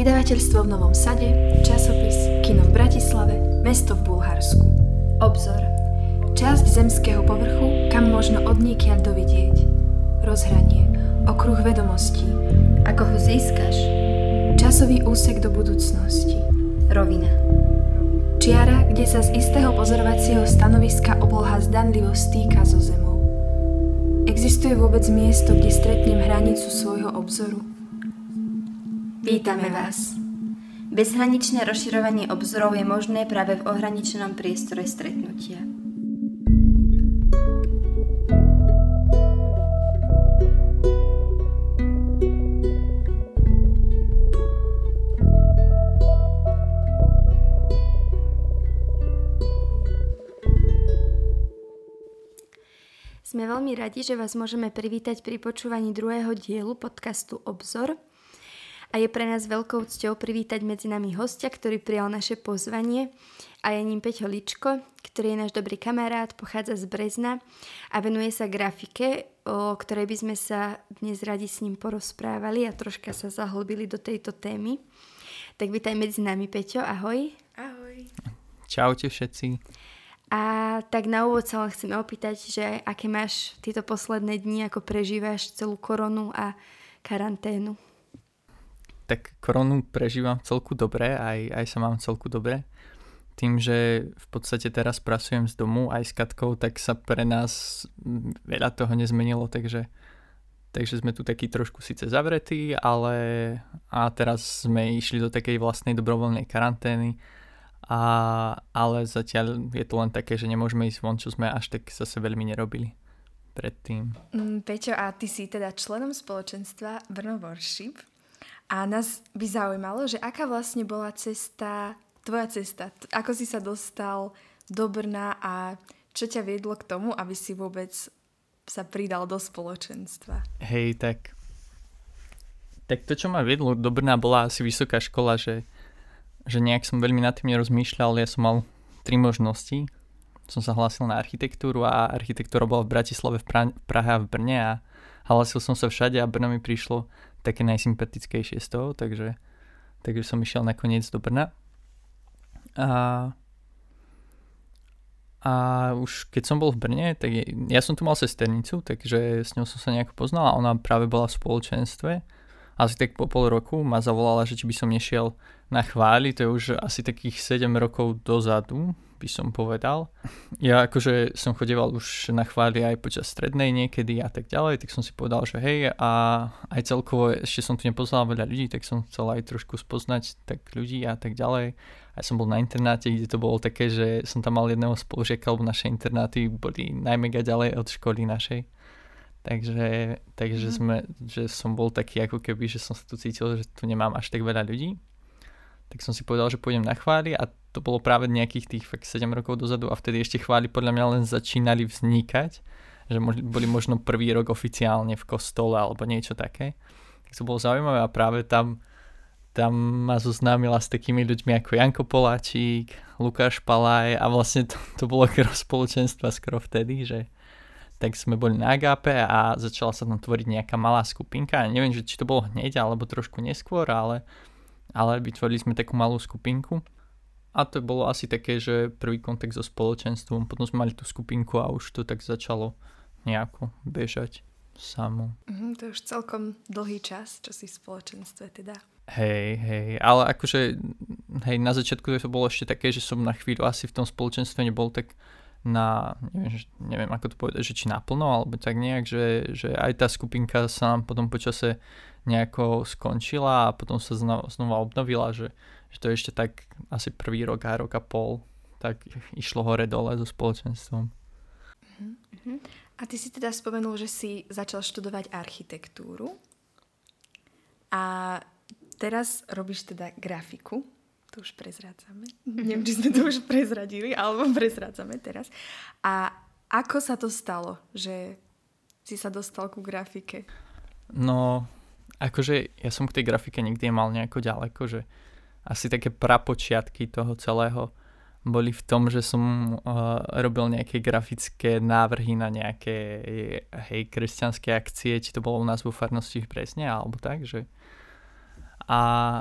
vydavateľstvo v Novom Sade, časopis, kino v Bratislave, mesto v Bulharsku. Obzor. Časť zemského povrchu, kam možno odniekiaľ dovidieť. Rozhranie. Okruh vedomostí. Ako ho získaš? Časový úsek do budúcnosti. Rovina. Čiara, kde sa z istého pozorovacieho stanoviska obloha zdanlivo stýka so zemou. Existuje vôbec miesto, kde stretnem hranicu svojho obzoru? Vítame vás. Bezhraničné rozširovanie obzorov je možné práve v ohraničenom priestore stretnutia. Sme veľmi radi, že vás môžeme privítať pri počúvaní druhého dielu podcastu Obzor. A je pre nás veľkou cťou privítať medzi nami hostia, ktorý prijal naše pozvanie, a je ním Peťo Ličko, ktorý je náš dobrý kamarát, pochádza z Brezna a venuje sa grafike, o ktorej by sme sa dnes radi s ním porozprávali a troška sa zahlbili do tejto témy. Tak vítaj medzi nami, Peťo, ahoj. Ahoj. Čaute všetci. A tak na úvod sa len chceme opýtať, že aké máš tieto posledné dni, ako prežívaš celú koronu a karanténu? Tak koronu prežívam celku dobre, aj sa mám celku dobre. Tým, že v podstate teraz pracujem z domu aj s Katkou, tak sa pre nás veľa toho nezmenilo, takže sme tu takí trošku síce zavretí, ale teraz sme išli do takej vlastnej dobrovoľnej karantény, ale zatiaľ je to len také, že nemôžeme ísť von, čo sme až tak zase veľmi nerobili predtým. Peťo, a ty si teda členom spoločenstva Brno Worship. A nás by zaujímalo, že aká vlastne bola tvoja cesta, ako si sa dostal do Brna a čo ťa viedlo k tomu, aby si vôbec sa pridal do spoločenstva? Hej, tak to, čo ma viedlo do Brna, bola asi vysoká škola, že nejak som veľmi nad tým nerozmýšľal. Ja som mal 3 možnosti. Som sa hlásil na architektúru a architektúra bola v Bratislave, v Prahe a v Brne a hlásil som sa všade a Brno mi prišlo také najsympatickejšie z toho, takže som išiel nakoniec do Brna. A už keď som bol v Brne, tak ja som tu mal sesternicu, takže s ňou som sa nejako poznal a ona práve bola v spoločenstve. Asi tak po pol roku ma zavolala, že či by som nešiel na chváli, to je už asi takých 7 rokov dozadu, by som povedal. Ja akože som chodieval už na chváli aj počas strednej niekedy a tak ďalej, tak som si povedal, že hej, a aj celkovo ešte som tu nepoznal veľa ľudí, tak som chcel aj trošku spoznať tak ľudí a tak ďalej. A som bol na internáte, kde to bolo také, že som tam mal jedného spolužiaka, lebo naše internáty boli najmega ďalej od školy našej. Takže že som bol taký ako keby, že som sa tu cítil, že tu nemám až tak veľa ľudí. Tak som si povedal, že pôjdem na chvály a to bolo práve nejakých tých fakt 7 rokov dozadu a vtedy ešte chvály podľa mňa len začínali vznikať, že boli možno prvý rok oficiálne v kostole alebo niečo také. Tak to bolo zaujímavé a práve tam ma zoznámila s takými ľuďmi ako Janko Poláčik, Lukáš Palaj a vlastne to bolo spoločenstva skoro vtedy, že tak sme boli na Agape a začala sa tam tvoriť nejaká malá skupinka. Neviem, či to bolo hneď alebo trošku neskôr, ale vytvorili sme takú malú skupinku. A to bolo asi také, že prvý kontakt so spoločenstvom. Potom sme mali tú skupinku a už to tak začalo nejako bežať samo. To je už celkom dlhý čas, čo si v spoločenstve teda. Hej, ale akože na začiatku to bolo ešte také, že som na chvíľu asi v tom spoločenstve nebol tak neviem ako to povedať, že či naplno, alebo tak nejak, že aj tá skupinka sa nám potom počase nejako skončila a potom sa znova obnovila, že to ešte tak asi prvý rok a rok a pol tak išlo hore dole so spoločenstvom. A ty si teda spomenul, že si začal študovať architektúru a teraz robíš teda grafiku. To už prezrádzame. Neviem, či sme to už prezradili, alebo prezrádzame teraz. A ako sa to stalo, že si sa dostal ku grafike? No, akože ja som k tej grafike nikdy nemal nejako ďaleko, že asi také prapočiatky toho celého boli v tom, že som robil nejaké grafické návrhy na nejaké kresťanské akcie, či to bolo u nás vo farnosti v Brezne, alebo tak, že a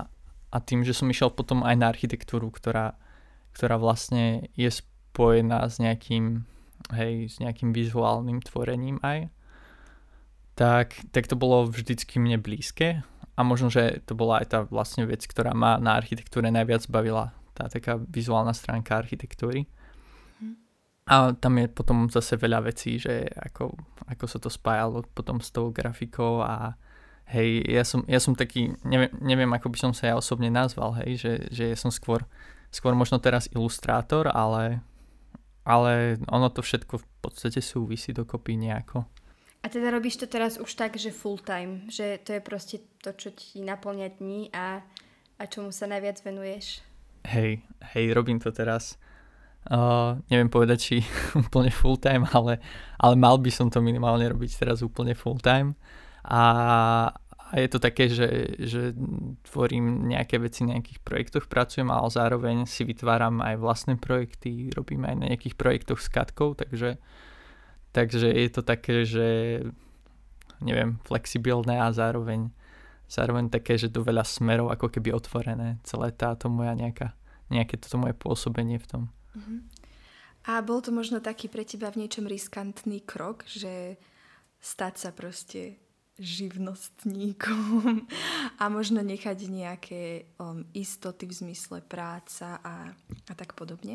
tým, že som išiel potom aj na architektúru, ktorá vlastne je spojená s nejakým vizuálnym tvorením aj, tak to bolo vždycky mne blízke a možno, že to bola aj tá vlastne vec, ktorá ma na architektúre najviac bavila, tá taká vizuálna stránka architektúry. A tam je potom zase veľa vecí, že ako sa to spájalo potom s tou grafikou a hej, ja som taký, neviem ako by som sa ja osobne nazval, hej, že ja som skôr možno teraz ilustrátor, ale ono to všetko v podstate súvisí dokopy nejako. A teda robíš to teraz už tak, že full time, že to je proste to, čo ti naplňa dní a čomu sa najviac venuješ? Hej, robím to teraz. Neviem povedať, či úplne full time, ale mal by som to minimálne robiť teraz úplne full time. A je to také, že tvorím nejaké veci, na nejakých projektoch pracujem, ale zároveň si vytváram aj vlastné projekty, robím aj na nejakých projektoch s Katkou, takže je to také, že neviem, flexibilné a zároveň také, že do veľa smerov ako keby otvorené celé táto moja nejaké toto moje pôsobenie v tom. A bol to možno taký pre teba v niečom riskantný krok, že stať sa proste živnostníkom a možno nechať nejaké istoty v zmysle práca a tak podobne?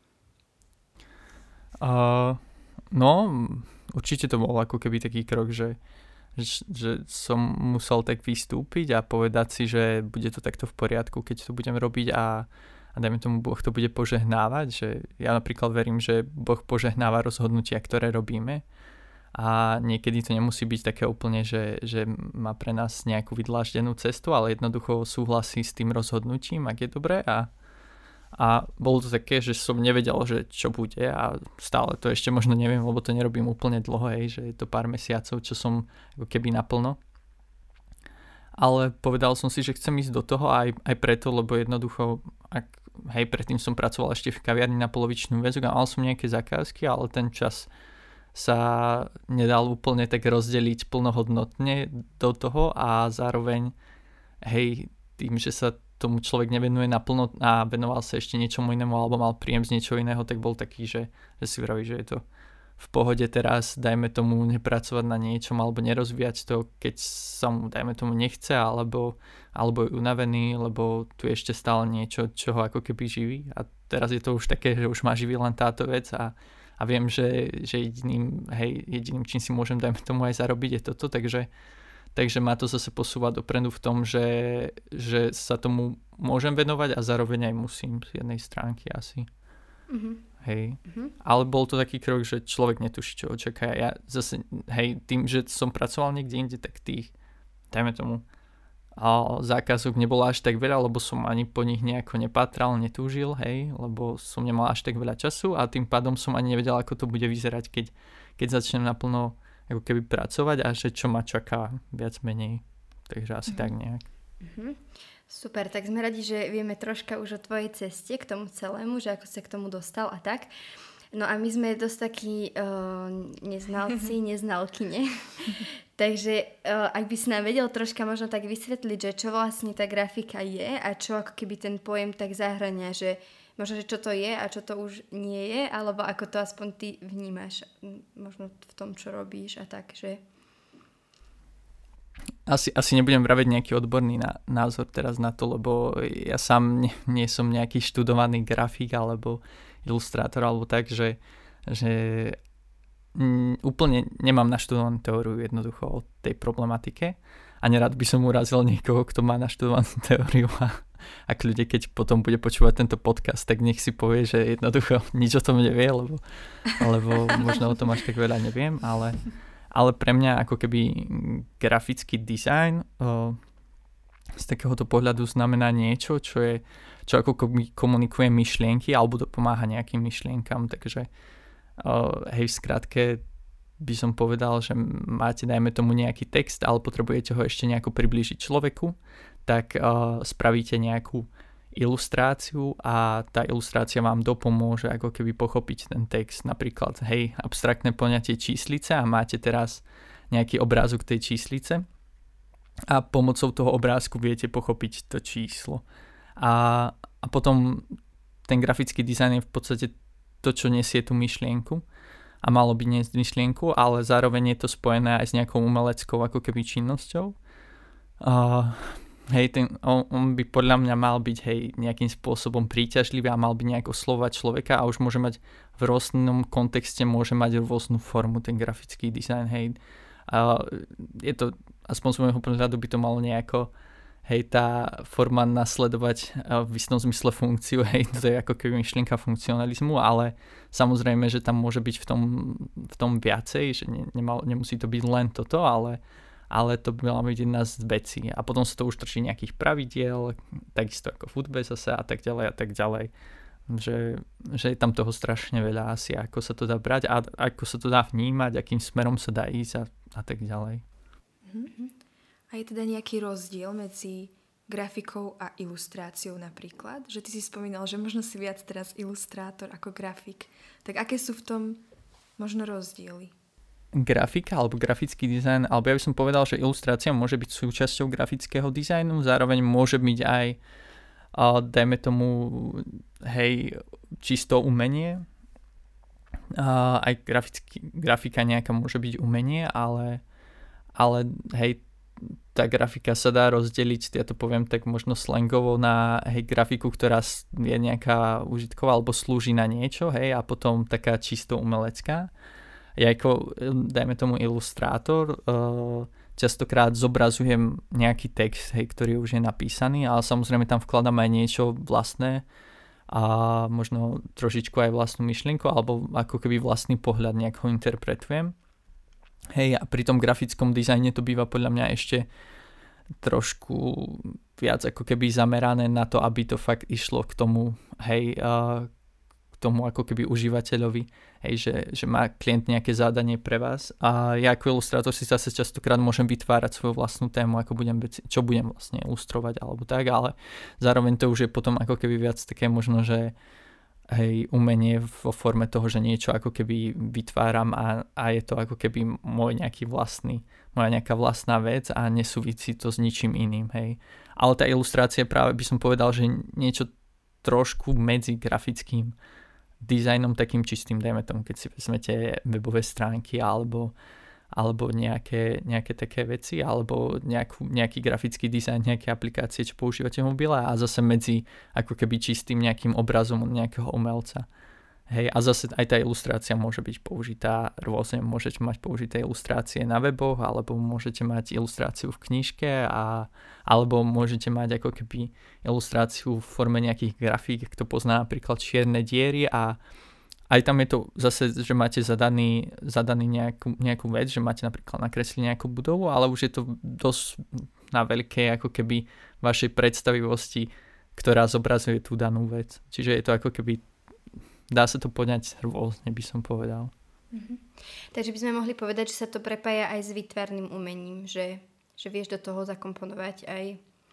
No, určite to bol ako keby taký krok, že som musel tak vystúpiť a povedať si, že bude to takto v poriadku, keď to budem robiť a dajme tomu Boh to bude požehnávať, že ja napríklad verím, že Boh požehnáva rozhodnutia, ktoré robíme a niekedy to nemusí byť také úplne, že má pre nás nejakú vydláždenú cestu, ale jednoducho súhlasí s tým rozhodnutím, ak je dobré a bolo to také, že som nevedel, že čo bude a stále to ešte možno neviem, lebo to nerobím úplne dlho, že je to pár mesiacov, čo som ako keby naplno. Ale povedal som si, že chcem ísť do toho aj preto, lebo jednoducho, predtým som pracoval ešte v kaviarni na polovičnú väzok a mal som nejaké zakázky, ale ten čas sa nedal úplne tak rozdeliť plnohodnotne do toho a zároveň tým, že sa tomu človek nevenuje naplno a venoval sa ešte niečomu inému alebo mal príjem z niečoho iného, tak bol taký, že si vraví, že je to v pohode teraz, dajme tomu nepracovať na niečom alebo nerozvíjať to, keď sa mu, dajme tomu, nechce alebo je unavený, lebo tu je ešte stále niečo, čo ho ako keby živí a teraz je to už také, že už ma živí len táto vec a viem, že jediným, čím si môžem, dajme tomu, aj zarobiť je toto, takže ma to zase posúva dopredu v tom, že sa tomu môžem venovať a zároveň aj musím z jednej stránky asi. Ale bol to taký krok, že človek netuší, čo očaká. Ja zase, tým, že som pracoval niekde inde, tak tých, dajme tomu, zákazok nebolo až tak veľa, lebo som ani po nich nejako nepátral, netúžil, lebo som nemal až tak veľa času a tým pádom som ani nevedel, ako to bude vyzerať, keď začnem naplno ako keby pracovať a že čo ma čaká viac menej. Takže asi tak nejak. Super, tak sme radi, že vieme troška už o tvojej ceste k tomu celému, že ako sa k tomu dostal a tak. No a my sme dosť takí neznalci, neznalkyne. Takže ak by si nám vedel troška možno tak vysvetliť, že čo vlastne tá grafika je a čo ako keby ten pojem tak zahrania, že možno, že čo to je a čo to už nie je, alebo ako to aspoň ty vnímaš možno v tom, čo robíš a tak, že... Asi nebudem vraviť nejaký odborný názor teraz na to, lebo ja sám nie som nejaký študovaný grafik alebo ilustrátor alebo tak, že úplne nemám naštudovanú teóriu jednoducho o tej problematike a nerad by som urazil niekoho, kto má naštudovanú teóriu a ak ľudia, keď potom bude počúvať tento podcast, tak nech si povie, že jednoducho nič o tom nevie, lebo možno o tom až tak veľa neviem, ale pre mňa ako keby grafický dizajn z takéhoto pohľadu znamená niečo, čo ako komunikuje myšlienky alebo pomáha nejakým myšlienkam, takže v skratke by som povedal, že máte, dajme tomu, nejaký text, ale potrebujete ho ešte nejako priblížiť človeku, tak spravíte nejakú ilustráciu a tá ilustrácia vám dopomôže ako keby pochopiť ten text. Napríklad, abstraktné poňatie číslice a máte teraz nejaký obrázok tej číslice a pomocou toho obrázku viete pochopiť to číslo. A potom ten grafický dizajn je v podstate to, čo nesie tú myšlienku a malo by niesť myšlienku, ale zároveň je to spojené aj s nejakou umeleckou ako keby činnosťou. On by podľa mňa mal byť nejakým spôsobom príťažlivý a mal by nejak oslovať človeka a už môže mať v rôznom kontexte môže mať rôznu formu ten grafický dizajn. Je to, aspoň z môjho pohľadu by to malo nejako tá forma nasledovať v istom zmysle funkciu, to je ako keby myšlienka funkcionalizmu, ale samozrejme, že tam môže byť v tom viacej, že nemusí to byť len toto, ale to by mala byť jedna z vecí. A potom sa to už drží nejakých pravidiel, takisto ako v hudbe zase a tak ďalej. Že je tam toho strašne veľa asi, ako sa to dá brať a ako sa to dá vnímať, akým smerom sa dá ísť a tak ďalej. A je teda nejaký rozdiel medzi grafikou a ilustráciou napríklad? Že ty si spomínal, že možno si viac teraz ilustrátor ako grafik. Tak aké sú v tom možno rozdiely? Grafika alebo grafický dizajn, alebo ja by som povedal, že ilustrácia môže byť súčasťou grafického dizajnu, zároveň môže byť aj dajme tomu čisto umenie. Aj grafika nejaká môže byť umenie, ale tá grafika sa dá rozdeliť, ja to poviem tak možno slangovo, na grafiku, ktorá je nejaká užitková alebo slúži na niečo, a potom taká čisto umelecká. Ja ako, dajme tomu ilustrátor, častokrát zobrazujem nejaký text, ktorý už je napísaný, ale samozrejme tam vkladám aj niečo vlastné a možno trošičku aj vlastnú myšlienku alebo ako keby vlastný pohľad nejak ho interpretujem. A pri tom grafickom dizajne to býva podľa mňa ešte trošku viac ako keby zamerané na to, aby to fakt išlo k tomu, k tomu ako keby užívateľovi, že má klient nejaké zadanie pre vás a ja ako ilustrátor si zase častokrát môžem vytvárať svoju vlastnú tému, čo budem vlastne ilustrovať alebo tak, ale zároveň to už je potom ako keby viac také možno, že umenie vo forme toho, že niečo ako keby vytváram a je to ako keby moja nejaká vlastná vec a nesúvisí to s ničím iným, Ale tá ilustrácia práve by som povedal, že niečo trošku medzi grafickým dizajnom takým čistým, dajme tomu, keď si vezmete webové stránky alebo nejaké také veci, alebo nejaký grafický dizajn, nejaké aplikácie, čo používate v mobile a zase medzi ako keby čistým nejakým obrazom od nejakého umelca. A zase aj tá ilustrácia môže byť použitá rôzne, môžete mať použité ilustrácie na weboch, alebo môžete mať ilustráciu v knižke, alebo môžete mať ako keby ilustráciu v forme nejakých grafík, kto pozná napríklad čierne diery a aj tam je to zase, že máte zadaný nejakú vec, že máte napríklad nakresliť nejakú budovu, ale už je to dosť na veľké ako keby vašej predstavivosti, ktorá zobrazuje tú danú vec. Čiže je to ako keby, dá sa to poňať rôzne, by som povedal. Takže by sme mohli povedať, že sa to prepája aj s výtvarným umením, že vieš do toho zakomponovať aj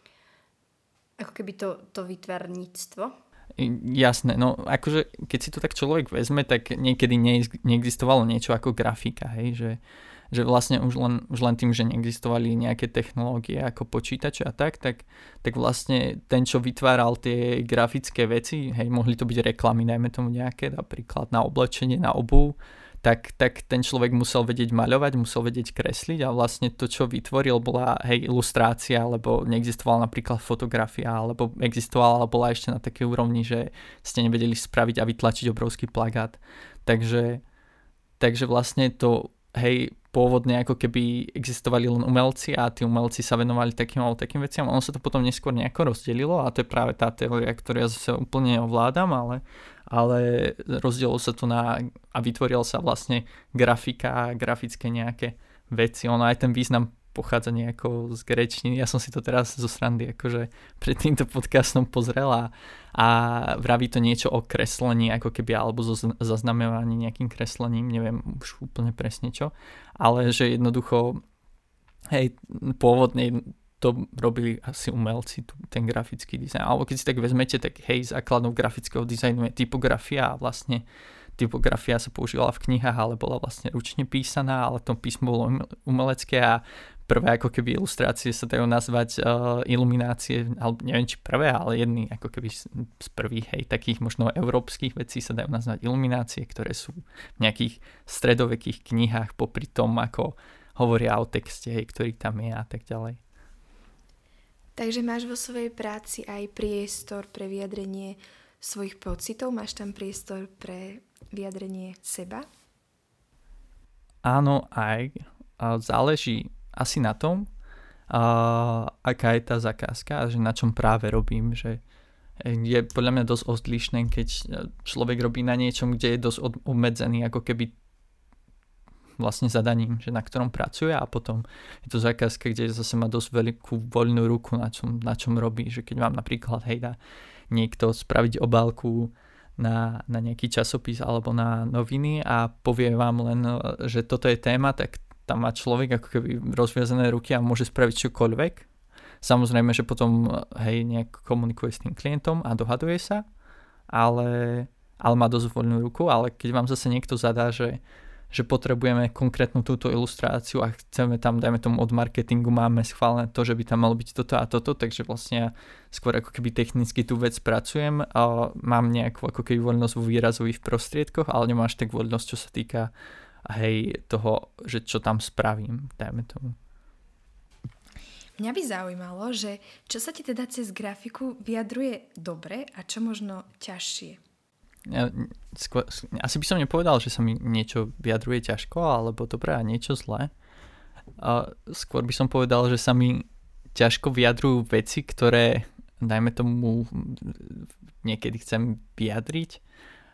ako keby to výtvarníctvo. Jasné, no akože keď si to tak človek vezme, tak niekedy neexistovalo niečo ako grafika, že vlastne už len tým, že neexistovali nejaké technológie ako počítače a tak vlastne ten, čo vytváral tie grafické veci, mohli to byť reklamy, dajme tomu nejaké, napríklad na oblečenie, na obuv, tak ten človek musel vedieť maľovať, musel vedieť kresliť a vlastne to, čo vytvoril, bola ilustrácia, lebo neexistovala napríklad fotografia, alebo existovala, ale bola ešte na takej úrovni, že ste nevedeli spraviť a vytlačiť obrovský plagát. Takže vlastne to, pôvodne ako keby existovali len umelci a tí umelci sa venovali takým veciam. Ono sa to potom neskôr nejako rozdelilo a to je práve tá teória, ktorú ja zase úplne ovládam, ale rozdielilo sa to a vytvoril sa vlastne grafika a grafické nejaké veci. Ono aj ten význam pochádza nejako z gréčtiny. Ja som si to teraz zo srandy akože pred týmto podcastom pozrel a vraví to niečo o kreslení ako keby, alebo zaznamenaní nejakým kreslením, neviem už úplne presne čo, ale že jednoducho pôvodne to robili asi umelci, ten grafický dizajn. Alebo keď si tak vezmete, tak základnou grafického dizajnu je typografia a vlastne typografia sa používala v knihách, ale bola vlastne ručne písaná, ale to písmo bolo umelecké a prvé ako keby ilustrácie sa dajú nazvať iluminácie, alebo neviem či prvé, ale jedny ako keby z prvých, hej, takých možno európskych vecí sa dajú nazvať iluminácie, ktoré sú v nejakých stredovekých knihách popri tom, ako hovoria o texte, hej, ktorý tam je a tak ďalej. Takže máš vo svojej práci aj priestor pre vyjadrenie svojich pocitov? Máš tam priestor pre vyjadrenie seba? Áno, aj. Záleží asi na tom, aká je tá zakázka a že na čom práve robím. Že je podľa mňa dosť odlišné, keď človek robí na niečom, kde je dosť obmedzený ako keby vlastne zadaním, že na ktorom pracuje, a potom je to zákazka, kde zase má dosť veľkú voľnú ruku na čom robí. Že keď vám napríklad dá niekto spraviť obálku na nejaký časopis alebo na noviny a povie vám len, že toto je téma, tak tam má človek ako keby rozviazané ruky a môže spraviť čokoľvek. Samozrejme, že potom nejak komunikuje s tým klientom a dohaduje sa, ale má dosť voľnú ruku. Ale keď vám zase niekto zadá, že potrebujeme konkrétnu túto ilustráciu a chceme tam, dajme tomu od marketingu, máme schválené to, že by tam malo byť toto a toto, takže vlastne ja skôr ako keby technicky tú vec pracujem a mám nejakú ako keby voľnosť vo výrazových prostriedkoch, ale nemám až tak voľnosť, čo sa týka toho, že čo tam spravím, dajme tomu. Mňa by zaujímalo, že čo sa ti teda cez grafiku vyjadruje dobre a čo možno ťažšie? Asi by som nepovedal, že sa mi niečo vyjadruje ťažko alebo dobre a niečo zlé. Skôr by som povedal, že sa mi ťažko vyjadrujú veci, ktoré dajme tomu niekedy chcem vyjadriť,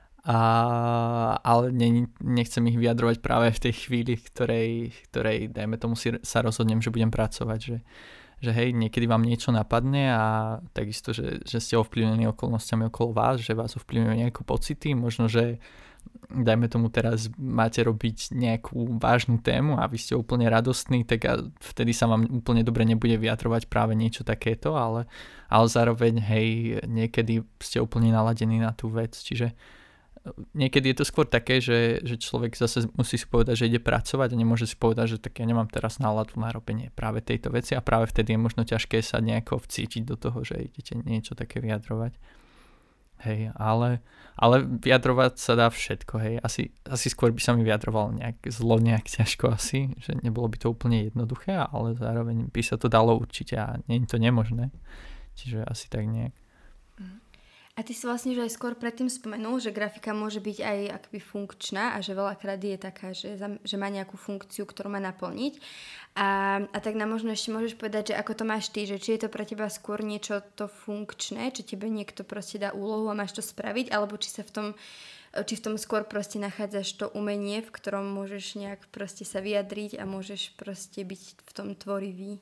ale nechcem ich vyjadrovať práve v tej chvíli, ktorej dajme tomu sa rozhodnem, že budem pracovať, že hej, niekedy vám niečo napadne a takisto, že ste ovplyvnení okolnostiami okolo vás, že vás ovplyvňujú nejaké pocity, možno, že dajme tomu teraz máte robiť nejakú vážnu tému a vy ste úplne radostní, tak vtedy sa vám úplne dobre nebude vyjadrovať práve niečo takéto, ale zároveň hej, niekedy ste úplne naladení na tú vec, čiže niekedy je to skôr také, že človek zase musí si povedať, že ide pracovať a nemôže si povedať, že tak ja nemám teraz náladu na robenie práve tejto veci a práve vtedy je možno ťažké sa nejako vcítiť do toho, že idete niečo také vyjadrovať. Hej, ale vyjadrovať sa dá všetko, hej. Asi skôr by sa mi vyjadroval nejak zlo, nejak ťažko asi, že nebolo by to úplne jednoduché, ale zároveň by sa to dalo určite a nie je to nemožné. Čiže asi tak nejak. A ty si vlastne, že aj skôr predtým spomenul, že grafika môže byť aj akoby funkčná a že veľakrát je taká, že má nejakú funkciu, ktorú má naplniť. A tak nám možno ešte môžeš povedať, že ako to máš ty, že či je to pre teba skôr niečo to funkčné, či tebe niekto proste dá úlohu a máš to spraviť, alebo či v tom skôr proste nachádzaš to umenie, v ktorom môžeš nejak proste sa vyjadriť a môžeš proste byť v tom tvorivý.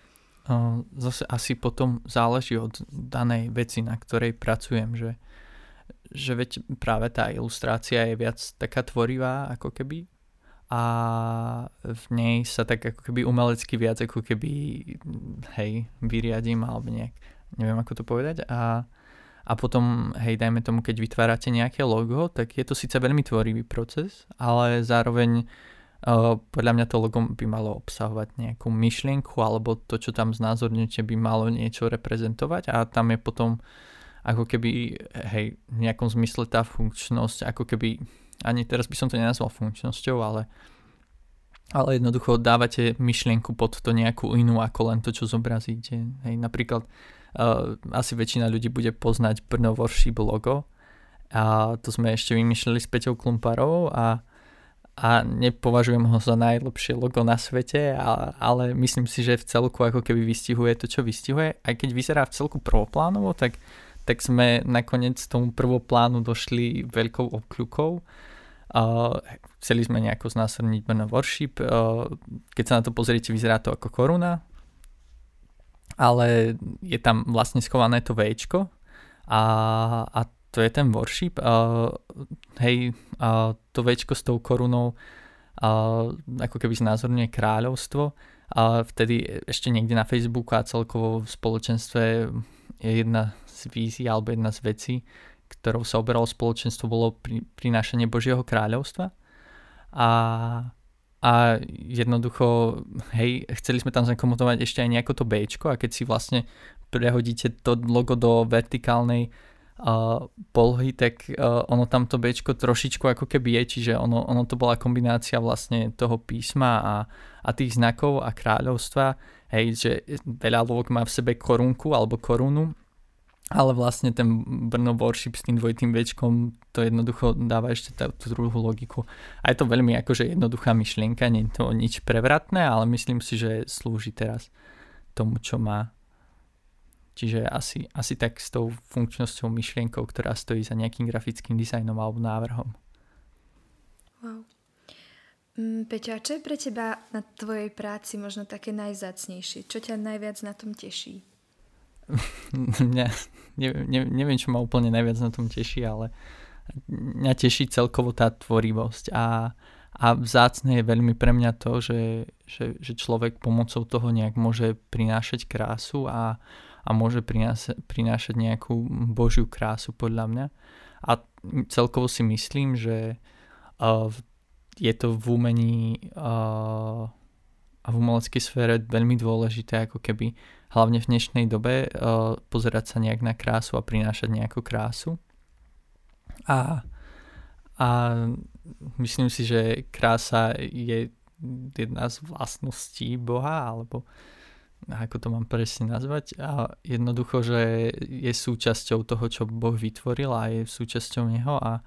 Zase asi potom záleží od danej veci, na ktorej pracujem, že veď práve tá ilustrácia je viac taká tvorivá ako keby a v nej sa tak ako keby umelecky viac ako keby vyriadím alebo nejak, neviem ako to povedať a potom dajme tomu, keď vytvárate nejaké logo, tak je to síce veľmi tvorivý proces, ale zároveň podľa mňa to logo by malo obsahovať nejakú myšlienku alebo to, čo tam znázorňujete, by malo niečo reprezentovať a tam je potom ako keby v nejakom zmysle tá funkčnosť, ako keby, ani teraz by som to nenazval funkčnosťou, ale jednoducho dávate myšlienku pod to nejakú inú ako len to, čo zobrazíte. Napríklad asi väčšina ľudí bude poznať Brno Worship logo a to sme ešte vymýšľali s Peťou Klumparovou a nepovažujem ho za najlepšie logo na svete, ale myslím si, že v celku ako keby vystihuje to, čo vystihuje. Aj keď vyzerá v celku prvoplánovo, tak sme nakoniec tomu prvoplánu došli veľkou obkľukou. Chceli sme nejako znásilniť Brno Worship. Keď sa na to pozriete, vyzerá to ako koruna, ale je tam vlastne schované to Včko a to je ten worship. To Včko s tou korunou ako keby znázorňuje kráľovstvo. Vtedy ešte niekde na Facebooku a celkovo v spoločenstve je jedna z vízií alebo jedna z vecí, ktorou sa oberalo spoločenstvo, bolo prinášanie Božieho kráľovstva. A a jednoducho, hej, chceli sme tam zakomponovať ešte aj nejako to Bčko a keď si vlastne prehodíte to logo do vertikálnej polohy, tak ono tam to Bčko trošičku ako keby je, čiže ono to bola kombinácia vlastne toho písma a tých znakov a kráľovstva, hej, že veľa lôk má v sebe korunku alebo korunu, ale vlastne ten Brno Worship s tým dvojitým Bčkom to jednoducho dáva ešte tú druhú logiku. A je to veľmi akože jednoduchá myšlienka, nie je to nič prevratné, ale myslím si, že slúži teraz tomu, čo má. Čiže asi tak s tou funkčnosťou myšlienkou, ktorá stojí za nejakým grafickým dizajnom alebo návrhom. Wow. Peťo, a čo je pre teba na tvojej práci možno také najvzácnejšie? Čo ťa najviac na tom teší? Neviem, čo ma úplne najviac na tom teší, ale mňa teší celkovo tá tvorivosť a vzácne je veľmi pre mňa to, že človek pomocou toho nejak môže prinášať krásu a môže prinášať nejakú božiu krásu podľa mňa. A celkovo si myslím, že je to v umení a v umeleckej sfére veľmi dôležité, ako keby hlavne v dnešnej dobe pozerať sa nejak na krásu a prinášať nejakú krásu. A myslím si, že krása je jedna z vlastností Boha, alebo ako to mám presne nazvať. A jednoducho, že je súčasťou toho, čo Boh vytvoril a je súčasťou Neho a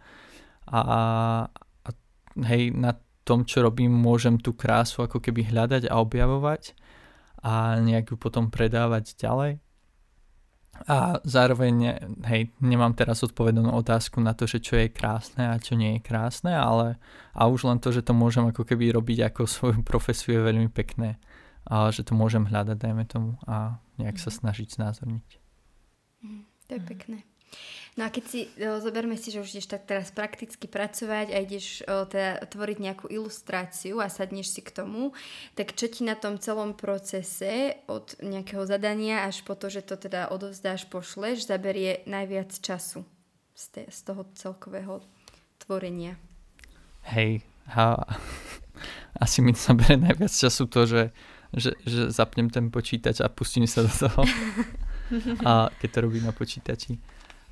hej, na tom, čo robím, môžem tú krásu ako keby hľadať a objavovať a nejak ju potom predávať ďalej. A zároveň, hej, nemám teraz odpovedanú otázku na to, že čo je krásne a čo nie je krásne, ale a už len to, že to môžem ako keby robiť ako svoju profesiu je veľmi pekné. A že to môžem hľadať, dajme tomu, a nejak sa snažiť znázorniť. To je pekné. No a keď si, zoberme si, že už ideš tak teraz prakticky pracovať a ideš teda tvoriť nejakú ilustráciu a sadneš si k tomu, tak čo ti na tom celom procese od nejakého zadania až po to, že to teda odovzdáš, pošleš, zaberie najviac času z toho celkového tvorenia? Hej, asi mi zabere najviac času to, že zapnem ten počítač a pustím sa do toho, a keď to robím na počítači.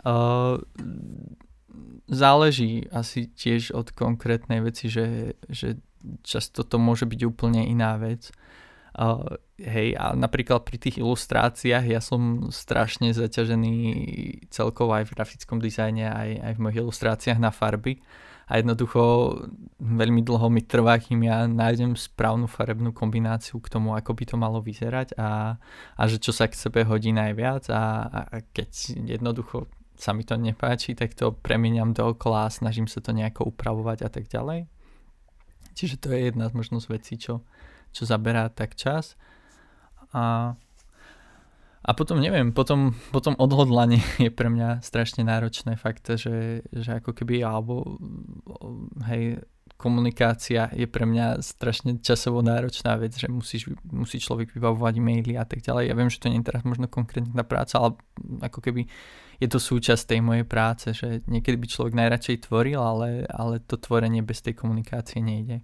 Záleží asi tiež od konkrétnej veci, že často to môže byť úplne iná vec. Hej, a napríklad pri tých ilustráciách ja som strašne zaťažený celkovo aj v grafickom dizajne, aj v mojich ilustráciách na farby. A jednoducho veľmi dlho mi trvá, kým ja nájdem správnu farebnú kombináciu k tomu, ako by to malo vyzerať a že čo sa k sebe hodí najviac a keď jednoducho sa mi to nepáči, tak to premieňam dookola a snažím sa to nejako upravovať a tak ďalej. Čiže to je jedna z možnosť vecí, čo zaberá tak čas. A potom neviem, potom odhodlanie je pre mňa strašne náročné fakt, že ako keby, alebo hej, komunikácia je pre mňa strašne časovo náročná vec, že musí človek vybavovať e-maily a tak ďalej. Ja viem, že to nie je teraz možno konkrétna práca, ale ako keby je to súčasť tej mojej práce, že niekedy by človek najradšej tvoril, ale to tvorenie bez tej komunikácie nejde.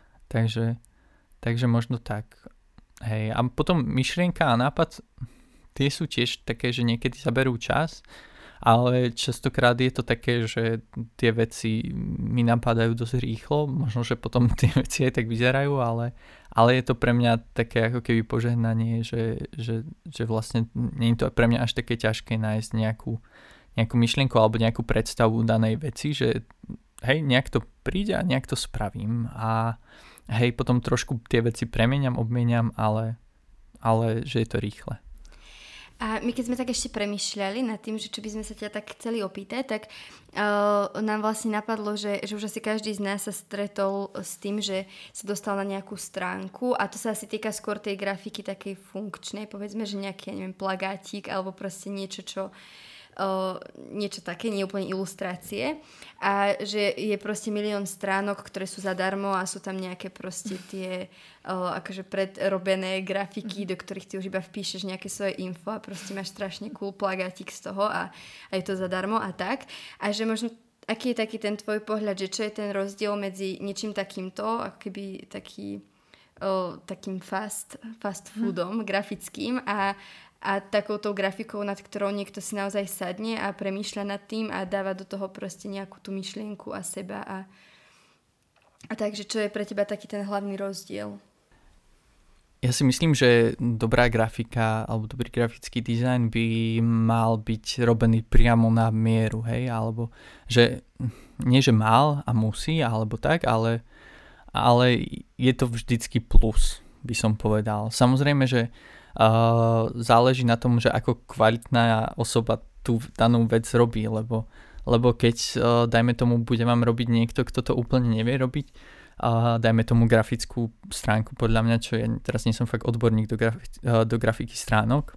Takže možno tak. Hej, a potom myšlienka a nápad, tie sú tiež také, že niekedy zaberú čas, ale častokrát je to také, že tie veci mi napadajú dosť rýchlo, možno, že potom tie veci aj tak vyzerajú, ale je to pre mňa také ako keby požehnanie, že vlastne nie je to pre mňa až také ťažké nájsť nejakú myšlienku alebo nejakú predstavu danej veci, že hej, nejak to príde a nejak to spravím a hej, potom trošku tie veci premieňam, obmieniam, ale že je to rýchle. A my keď sme tak ešte premýšľali nad tým, že čo by sme sa ťa tak chceli opýtať, tak nám vlastne napadlo, že už asi každý z nás sa stretol s tým, že sa dostal na nejakú stránku a to sa asi týka skôr tej grafiky takej funkčnej, povedzme, že nejaký, ja neviem, plagátik alebo proste niečo, niečo také, nie úplne ilustrácie a že je proste milión stránok, ktoré sú zadarmo a sú tam nejaké proste tie akože predrobené grafiky, do ktorých ty už iba vpíšeš nejaké svoje info a proste máš strašne cool plagátik z toho a je to zadarmo a tak. A že možno aký je taký ten tvoj pohľad, že čo je ten rozdiel medzi niečím takýmto, ako keby takým fast foodom grafickým a takouto grafikou, nad ktorou niekto si naozaj sadne a premýšľa nad tým a dáva do toho proste nejakú tú myšlienku a seba a takže čo je pre teba taký ten hlavný rozdiel? Ja si myslím, že dobrá grafika alebo dobrý grafický dizajn by mal byť robený priamo na mieru, hej, alebo že nie, že mal a musí, alebo tak, ale je to vždycky plus, by som povedal. Samozrejme, že záleží na tom, že ako kvalitná osoba tú danú vec robí, lebo keď, dajme tomu, bude vám robiť niekto, kto to úplne nevie robiť, dajme tomu grafickú stránku, podľa mňa, čo ja teraz nie som fakt odborník do grafiky stránok,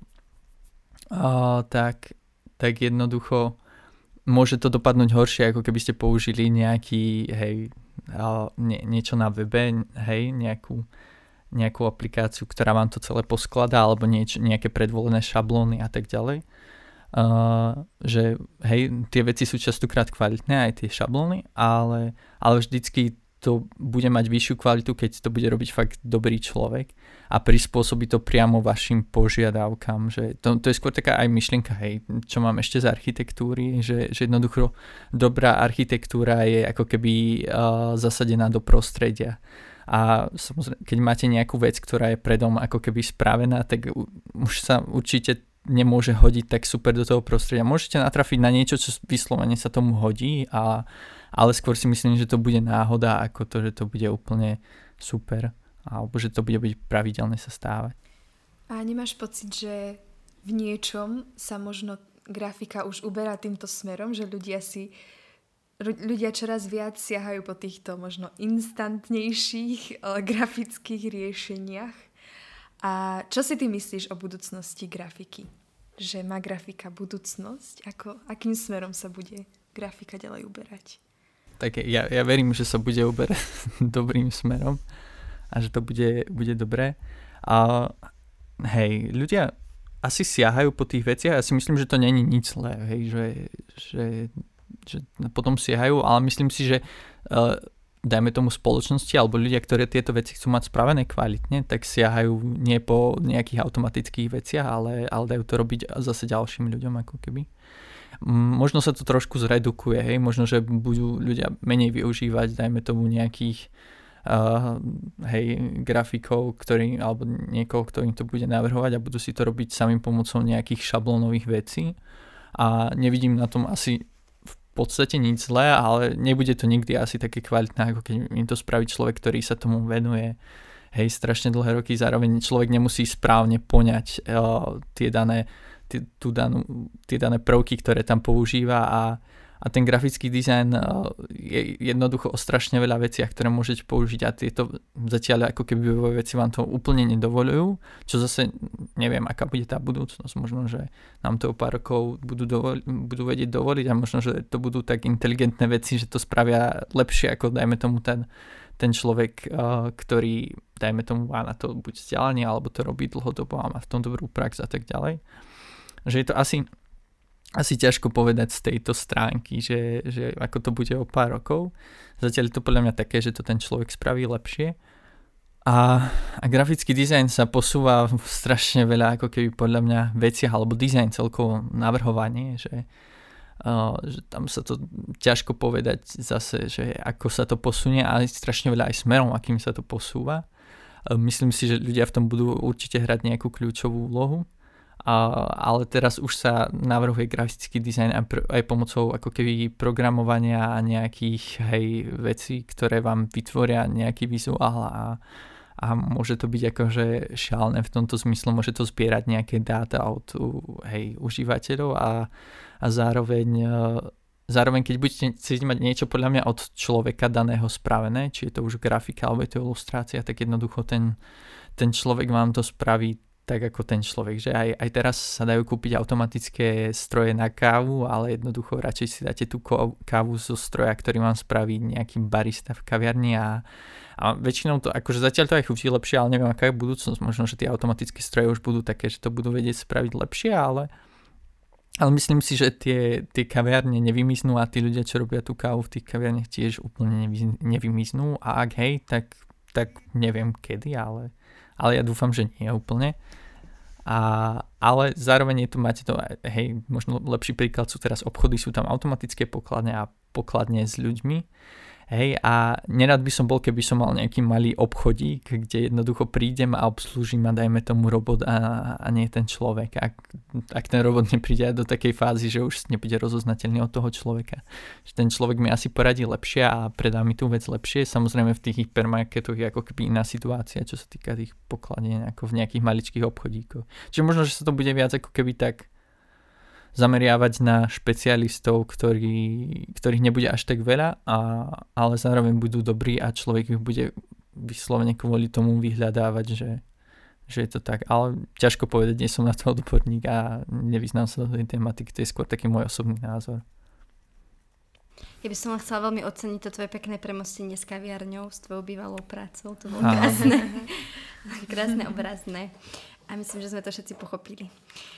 tak jednoducho môže to dopadnúť horšie, ako keby ste použili nejaký, niečo na webe, nejakú aplikáciu, ktorá vám to celé poskladá, alebo nejaké predvolené šablóny a tak ďalej. Že tie veci sú častokrát kvalitné, aj tie šablóny, ale vždycky to bude mať vyššiu kvalitu, keď to bude robiť fakt dobrý človek a prispôsobí to priamo vašim požiadavkám. Že to je skôr taká aj myšlienka, čo mám ešte z architektúry, že jednoducho dobrá architektúra je ako keby zasadená do prostredia. A samozrejme, keď máte nejakú vec, ktorá je predom ako keby spravená, tak už sa určite nemôže hodiť tak super do toho prostredia. Môžete natrafiť na niečo, čo vyslovene sa tomu hodí, ale skôr si myslím, že to bude náhoda, ako to, že to bude úplne super, alebo že to bude byť pravidelne sa stávať. A nemáš pocit, že v niečom sa možno grafika už uberá týmto smerom, že ľudia čoraz viac siahajú po týchto možno instantnejších grafických riešeniach? A čo si ty myslíš o budúcnosti grafiky? Že má grafika budúcnosť? Akým smerom sa bude grafika ďalej uberať? Tak ja verím, že sa bude uberať dobrým smerom a že to bude dobré. A ľudia asi siahajú po tých veciach. Ja si myslím, že to není nič zlé, že potom siahajú, ale myslím si, že dajme tomu spoločnosti alebo ľudia, ktorí tieto veci chcú mať spravené kvalitne, tak siahajú nie po nejakých automatických veciach, ale dajú to robiť zase ďalším ľuďom ako keby. Možno sa to trošku zredukuje, možno, že budú ľudia menej využívať, dajme tomu nejakých grafikov, alebo niekoho, kto im to bude navrhovať a budú si to robiť samým pomocou nejakých šablónových vecí a nevidím na tom asi v podstate nič zlé, ale nebude to nikdy asi také kvalitné, ako keď im to spraví človek, ktorý sa tomu venuje strašne dlhé roky, zároveň človek nemusí správne poňať tie dané prvky, ktoré tam používa a ten grafický dizajn je jednoducho o strašne veľa veciach, ktoré môžete použiť a tieto zatiaľ ako keby veci vám to úplne nedovoľujú, čo zase neviem, aká bude tá budúcnosť. Možno, že nám to o pár rokov budú vedieť dovoliť a možno, že to budú tak inteligentné veci, že to spravia lepšie ako dajme tomu ten človek, ktorý dajme tomu má na to buď vzdelanie alebo to robí dlhodobo a má v tom dobrú prax a tak ďalej. Že je to asi ťažko povedať z tejto stránky, že ako to bude o pár rokov. Zatiaľ je to podľa mňa také, že to ten človek spraví lepšie. A grafický dizajn sa posúva v strašne veľa ako keby podľa mňa veciach, alebo dizajn celkovo navrhovanie, že tam sa to ťažko povedať zase, že ako sa to posunie, ale strašne veľa aj smerom, akým sa to posúva. Myslím si, že ľudia v tom budú určite hrať nejakú kľúčovú úlohu. Ale teraz už sa navrhuje grafický dizajn aj pomocou ako keby programovania a nejakých vecí, ktoré vám vytvoria nejaký vizuál a môže to byť akože šialené v tomto zmysle, môže to zbierať nejaké dáta od užívateľov a zároveň keď budete chcieť mať niečo podľa mňa od človeka daného spravené, či je to už grafika alebo je to ilustrácia, tak jednoducho ten človek vám to spraví tak ako ten človek, že aj teraz sa dajú kúpiť automatické stroje na kávu, ale jednoducho radšej si dáte tú kávu zo stroja, ktorý vám spraví nejaký barista v kaviarni a väčšinou to, akože zatiaľ to aj chutí lepšie, ale neviem, aká je budúcnosť, možno, že tie automatické stroje už budú také, že to budú vedieť spraviť lepšie, Ale myslím si, že tie kaviárne nevymiznú a tí ľudia, čo robia tú kávu v tých kaviárniach, tiež úplne nevymiznú. A ak hej, tak neviem kedy, ale ja dúfam, že nie úplne. Ale zároveň je tu, máte to, hej, možno lepší príklad sú teraz obchody, sú tam automatické pokladne a pokladne s ľuďmi. Hej, a nerad by som bol, keby som mal nejaký malý obchodík, kde jednoducho prídem a obslúžim a dajme tomu robot a nie ten človek. Ak ten robot nepríde do takej fázy, že už nebude rozoznateľný od toho človeka. Že ten človek mi asi poradí lepšie a predá mi tú vec lepšie. Samozrejme v tých hypermarketoch je ako keby iná situácia, čo sa týka tých pokladní ako v nejakých maličkých obchodíkoch. Čiže možno, že sa to bude viac ako keby tak zameriavať na špecialistov, ktorých nebude až tak veľa, ale zároveň budú dobrí a človek ich bude vyslovene kvôli tomu vyhľadávať, že je to tak. Ale ťažko povedať, nie som na to odborník a nevyznám sa do tej tematiky, to je skôr taký môj osobný názor. Ja by som chcela veľmi oceniť to tvoje pekné premostenie s kaviarňou, s tvojou bývalou prácou, to bolo krásne. Krásne, obrazné. A myslím, že sme to všetci pochopili.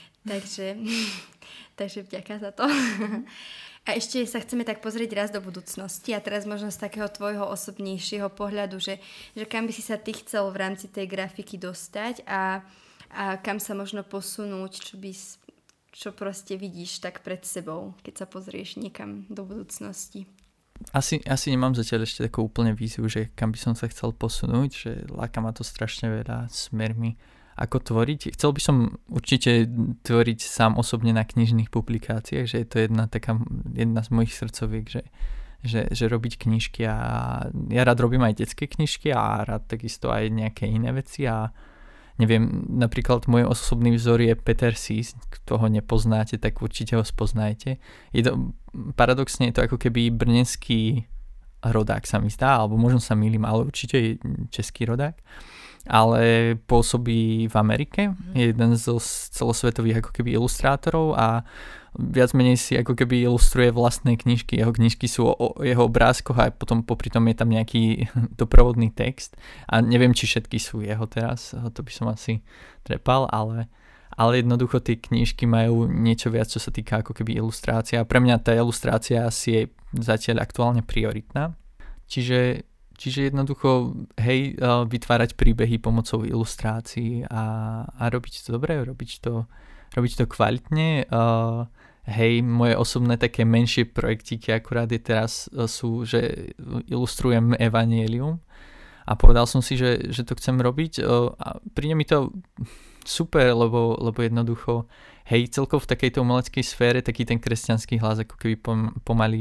Takže vďaka za to. A ešte sa chceme tak pozrieť raz do budúcnosti a teraz možno z takého tvojho osobnejšieho pohľadu, že kam by si sa ty chcel v rámci tej grafiky dostať a kam sa možno posunúť, čo proste vidíš tak pred sebou, keď sa pozrieš niekam do budúcnosti. Asi nemám zatiaľ ešte takú úplne víziu, že kam by som sa chcel posunúť, že láka ma to strašne veľa smermi. Ako tvoriť? Chcel by som určite tvoriť sám osobne na knižných publikáciách, že je to jedna z mojich srdcoviek, že robiť knižky a ja rád robím aj detské knižky a rád takisto aj nejaké iné veci a neviem, napríklad môj osobný vzor je Peter Sis, kto ho nepoznáte, tak určite ho spoznajte. Paradoxne je to ako keby brněnský rodák sa mi zdá, alebo možno sa mýlim, ale určite je český rodák. Ale pôsobí v Amerike, je jeden zo celosvetových ako keby ilustrátorov a viac menej si ako keby ilustruje vlastné knižky. Jeho knižky sú o jeho obrázkoch a potom popri tom je tam nejaký doprovodný text a neviem, či všetky sú jeho teraz, to by som asi trepal, ale jednoducho tie knižky majú niečo viac, čo sa týka ako keby ilustrácia a pre mňa tá ilustrácia asi je zatiaľ aktuálne prioritná. Čiže jednoducho, hej, vytvárať príbehy pomocou ilustrácií a robiť to dobre, robiť to kvalitne. Hej, moje osobné také menšie projektíky akurát teraz sú, že ilustrujem Evangelium a povedal som si, že to chcem robiť a príde mi to super, lebo jednoducho, hej, celkovo v takejto umeleckej sfére taký ten kresťanský hlas ako keby pomaly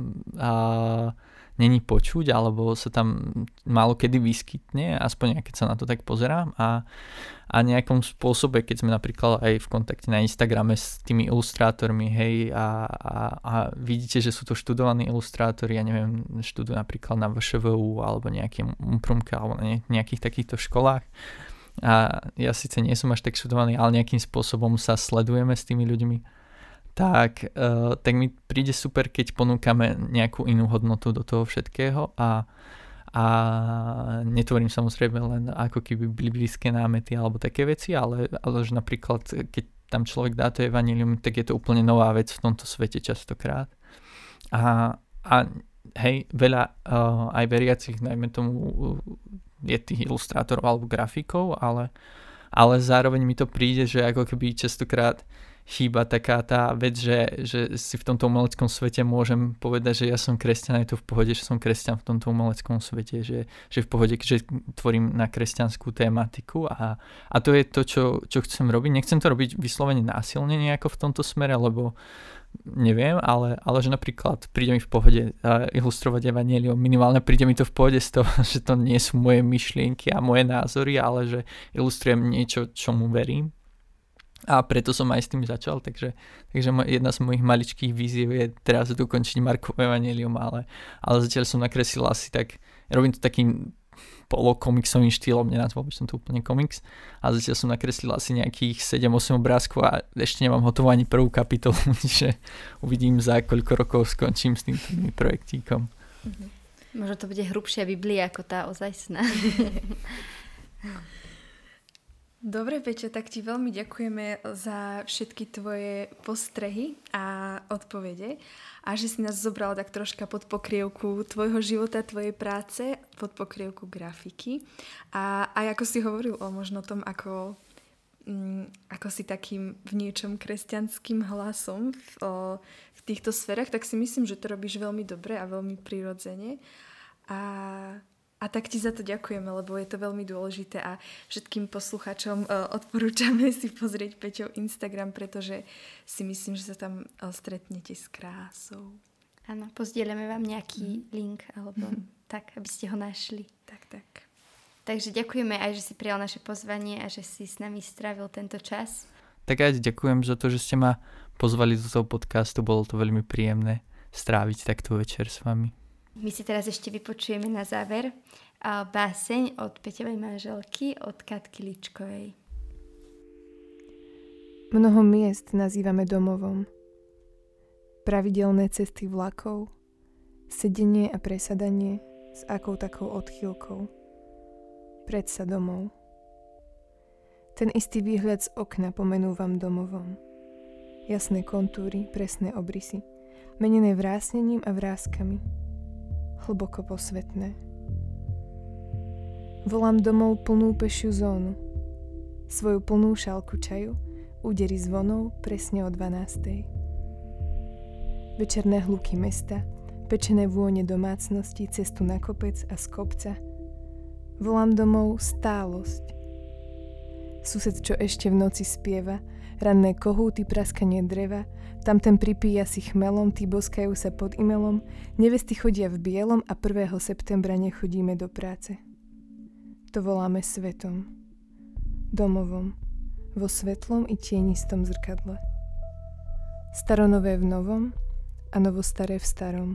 není počuť, alebo sa tam málo kedy vyskytne, aspoň keď sa na to tak pozerám a nejakom spôsobe, keď sme napríklad aj v kontakte na Instagrame s tými ilustrátormi, hej, a vidíte, že sú to študovaní ilustrátori, ja neviem, študujú napríklad na VŠVU alebo nejakým Umprumke alebo na nejakých takýchto školách a ja síce nie som až tak študovaný, ale nejakým spôsobom sa sledujeme s tými ľuďmi, tak mi príde super, keď ponúkame nejakú inú hodnotu do toho všetkého a netvorím samozrejme len ako keby biblické námety alebo také veci, ale že napríklad keď tam človek dá to evanjelium, tak je to úplne nová vec v tomto svete častokrát. A hej, veľa aj veriacich, najmä tomu je tých ilustrátorov alebo grafikov, ale zároveň mi to príde, že ako keby častokrát chýba taká tá vec, že si v tomto umeleckom svete môžem povedať, že ja som kresťan, je to v pohode, že som kresťan v tomto umeleckom svete, že v pohode, že tvorím na kresťanskú tématiku a to je to, čo chcem robiť. Nechcem to robiť vyslovene násilne nejako v tomto smere, lebo neviem, ale že napríklad príde mi v pohode ilustrovať evanjelium, minimálne príde mi to v pohode z toho, že to nie sú moje myšlienky a moje názory, ale že ilustrujem niečo, čomu verím. A preto som aj s tým začal, takže jedna z mojich maličkých víziev je teraz dokončiť Markovo evanjelium, ale zatiaľ som nakreslil asi tak, robím to takým polokomiksovým štýlom, nenazval by som to úplne komiks, a zatiaľ som nakreslil asi nejakých 7-8 obrázkov a ešte nemám hotovú ani prvú kapitolu, čiže uvidím za koľko rokov skončím s týmto projektíkom. Možno to bude hrubšia Biblia ako tá ozajstná. Dobre, Peťo, tak ti veľmi ďakujeme za všetky tvoje postrehy a odpovede a že si nás zobrala tak troška pod pokrievku tvojho života, tvojej práce, pod pokrievku grafiky. A aj ako si hovoril o možno tom, ako si takým v niečom kresťanským hlasom v týchto sférach, tak si myslím, že to robíš veľmi dobre a veľmi prirodzene. A tak ti za to ďakujeme, lebo je to veľmi dôležité a všetkým poslucháčom odporúčame si pozrieť Peťov Instagram, pretože si myslím, že sa tam stretnete s krásou. Áno, pozdieľame vám nejaký link alebo tak, aby ste ho našli. Tak. Takže ďakujeme aj, že si prijal naše pozvanie a že si s nami strávil tento čas. Tak aj ďakujem za to, že ste ma pozvali do toho podcastu, bolo to veľmi príjemné stráviť takto večer s vami. My si teraz ešte vypočujeme na záver báseň od Peťovej manželky, od Katky Ličkovej. Mnoho miest nazývame domovom. Pravidelné cesty vlakov, sedenie a presadanie s akou takou odchýlkou. Predsa domov. Ten istý výhľad z okna pomenúvam domovom. Jasné kontúry, presné obrysy, menené vrásnením a vrázkami. Hlboko posvetné. Volám domov plnú pešiu zónu. Svoju plnú šálku čaju, údery zvonov presne o 12. Večerné hluky mesta, pečené vône domácnosti, cestu na kopec a z kopca. Volám domov stálosť. Sused, čo ešte v noci spieva, ranné kohúty, praskanie dreva, tamten pripíja si chmelom, tí boskajú sa pod imelom, nevesty chodia v bielom a 1. septembra nechodíme do práce. To voláme svetom, domovom, vo svetlom i tienistom zrkadle. Staronové v novom a novostaré v starom.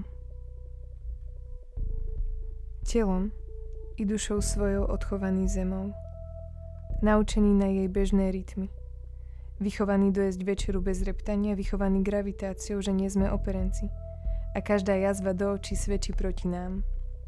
Telom i dušou svojou odchovaný zemou, naučený na jej bežné rytmy. Vychovaný dojesť večeru bez reptania, vychovaný gravitáciou, že nie sme operenci. A každá jazva do očí svedčí proti nám.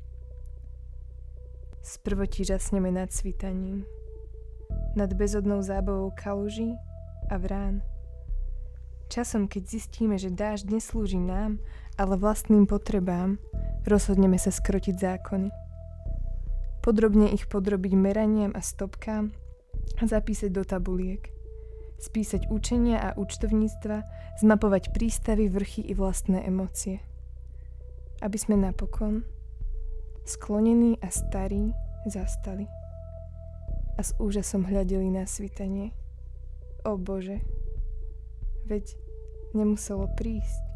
Sprvoti žasneme nad svítaním. Nad bezodnou zábavou kaluží a vrán. Časom, keď zistíme, že dážď neslúži nám, ale vlastným potrebám, rozhodneme sa skrotiť zákony. Podrobne ich podrobiť meraniam a stopkám a zapísať do tabuliek. Spísať učenia a účtovníctva, zmapovať prístavy, vrchy i vlastné emócie. Aby sme napokon, sklonení a starí, zastali. A s úžasom hľadeli na svitanie. O Bože, veď nemuselo prísť.